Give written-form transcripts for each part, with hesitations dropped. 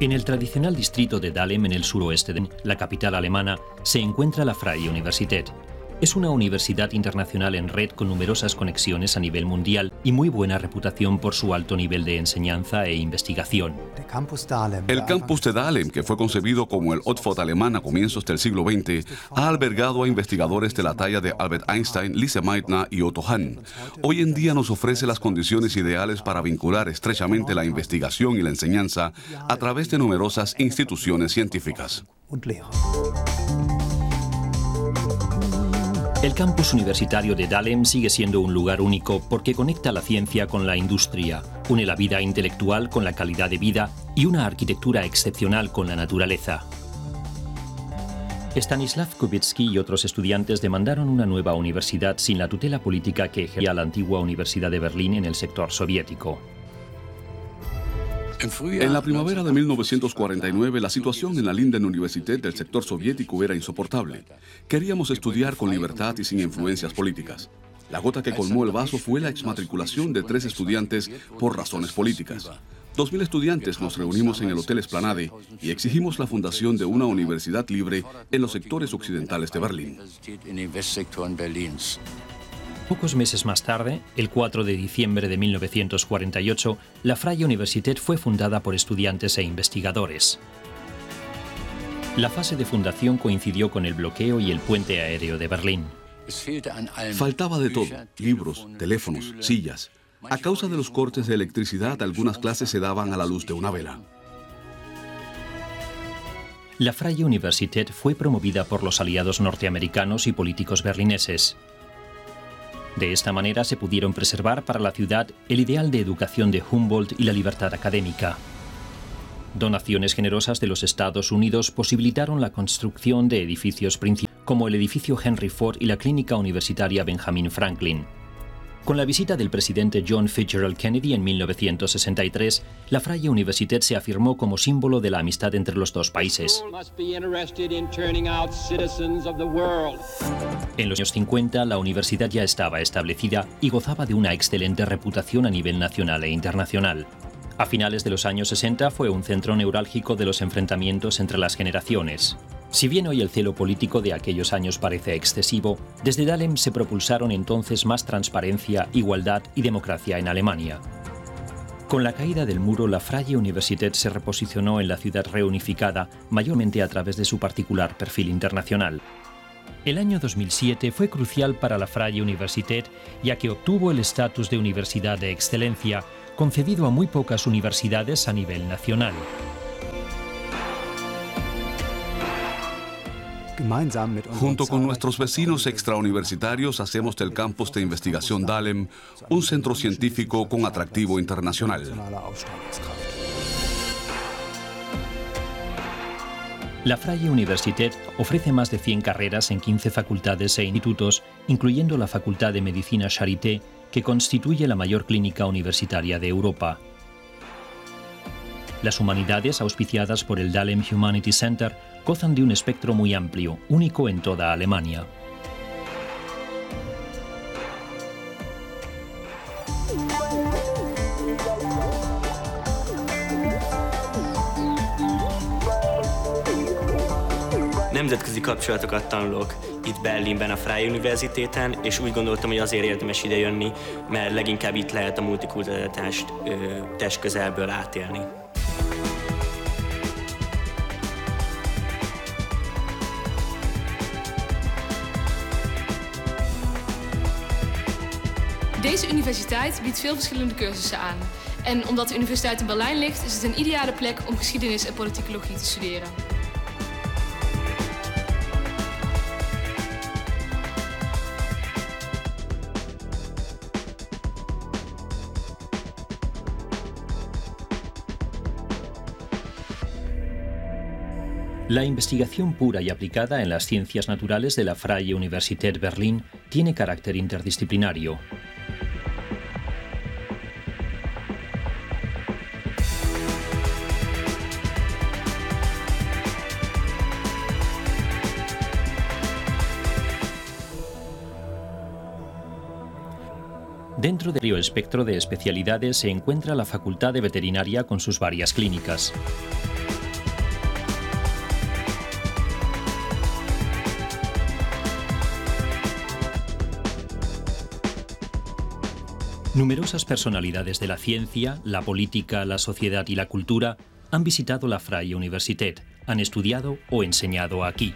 En el tradicional distrito de Dahlem, en el suroeste de la capital alemana, se encuentra la Freie Universität. Es una universidad internacional en red con numerosas conexiones a nivel mundial y muy buena reputación por su alto nivel de enseñanza e investigación. El campus de Dahlem, que fue concebido como el Oxford alemán a comienzos del siglo XX, ha albergado a investigadores de la talla de Albert Einstein, Lise Meitner y Otto Hahn. Hoy en día nos ofrece las condiciones ideales para vincular estrechamente la investigación y la enseñanza a través de numerosas instituciones científicas. El campus universitario de Dahlem sigue siendo un lugar único porque conecta la ciencia con la industria, une la vida intelectual con la calidad de vida y una arquitectura excepcional con la naturaleza. Stanislav Kubicki y otros estudiantes demandaron una nueva universidad sin la tutela política que ejercía la antigua Universidad de Berlín en el sector soviético. En la primavera de 1949, la situación en la Linden Universität del sector soviético era insoportable. Queríamos estudiar con libertad y sin influencias políticas. La gota que colmó el vaso fue la exmatriculación de 3 estudiantes por razones políticas. 2.000 estudiantes nos reunimos en el Hotel Esplanade y exigimos la fundación de una universidad libre en los sectores occidentales de Berlín. Pocos meses más tarde, el 4 de diciembre de 1948, la Freie Universität fue fundada por estudiantes e investigadores. La fase de fundación coincidió con el bloqueo y el puente aéreo de Berlín. Faltaba de todo: libros, teléfonos, sillas. A causa de los cortes de electricidad, algunas clases se daban a la luz de una vela. La Freie Universität fue promovida por los aliados norteamericanos y políticos berlineses. De esta manera se pudieron preservar para la ciudad el ideal de educación de Humboldt y la libertad académica. Donaciones generosas de los Estados Unidos posibilitaron la construcción de edificios principales, como el edificio Henry Ford y la clínica universitaria Benjamin Franklin. Con la visita del presidente John Fitzgerald Kennedy en 1963, la Freie Universität se afirmó como símbolo de la amistad entre los dos países. En los años 50, la universidad ya estaba establecida y gozaba de una excelente reputación a nivel nacional e internacional. A finales de los años 60 fue un centro neurálgico de los enfrentamientos entre las generaciones. Si bien hoy el celo político de aquellos años parece excesivo, desde Dahlem se propulsaron entonces más transparencia, igualdad y democracia en Alemania. Con la caída del muro, la Freie Universität se reposicionó en la ciudad reunificada, mayormente a través de su particular perfil internacional. El año 2007 fue crucial para la Freie Universität, ya que obtuvo el estatus de universidad de excelencia, concedido a muy pocas universidades a nivel nacional. Junto con nuestros vecinos extrauniversitarios hacemos del campus de investigación Dahlem un centro científico con atractivo internacional. La Freie Universität ofrece más de 100 carreras en 15 facultades e institutos, incluyendo la Facultad de Medicina Charité, que constituye la mayor clínica universitaria de Europa. Las humanidades, auspiciadas por el Dahlem Humanity Center, gozan de un espectro muy amplio, único en toda Alemania. Nemzetközi kapcsolatokat tanulok itt Berlinben a Freie Universitäten, és úgy gondoltam, hogy azért érdemes idejönni, mert leginkább itt lehet a multikulturalitást testközelből átélni. Deze universiteit biedt veel verschillende cursussen aan. En omdat de universiteit in Berlijn ligt, is het een ideale plek om geschiedenis en politicologie te studeren. La investigación pura y aplicada en las ciencias naturales de la Freie Universität Berlin tiene carácter interdisciplinario. Dentro del amplio espectro de especialidades se encuentra la Facultad de Veterinaria con sus varias clínicas. Numerosas personalidades de la ciencia, la política, la sociedad y la cultura han visitado la Freie Universität, han estudiado o enseñado aquí.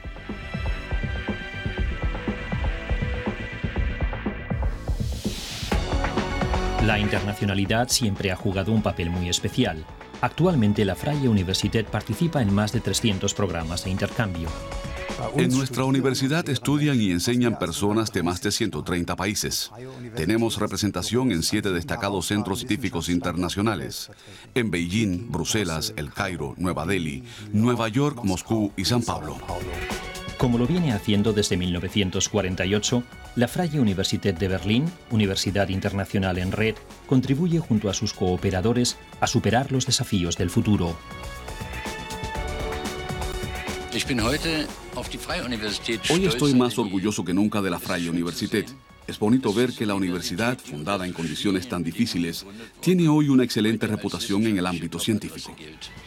La internacionalidad siempre ha jugado un papel muy especial. Actualmente la Freie Universität participa en más de 300 programas de intercambio. En nuestra universidad estudian y enseñan personas de más de 130 países. Tenemos representación en 7 destacados centros científicos internacionales: en Beijing, Bruselas, El Cairo, Nueva Delhi, Nueva York, Moscú y San Pablo. Como lo viene haciendo desde 1948, la Freie Universität de Berlín, Universidad Internacional en Red, contribuye junto a sus cooperadores a superar los desafíos del futuro. Hoy estoy más orgulloso que nunca de la Freie Universität. Es bonito ver que la universidad, fundada en condiciones tan difíciles, tiene hoy una excelente reputación en el ámbito científico.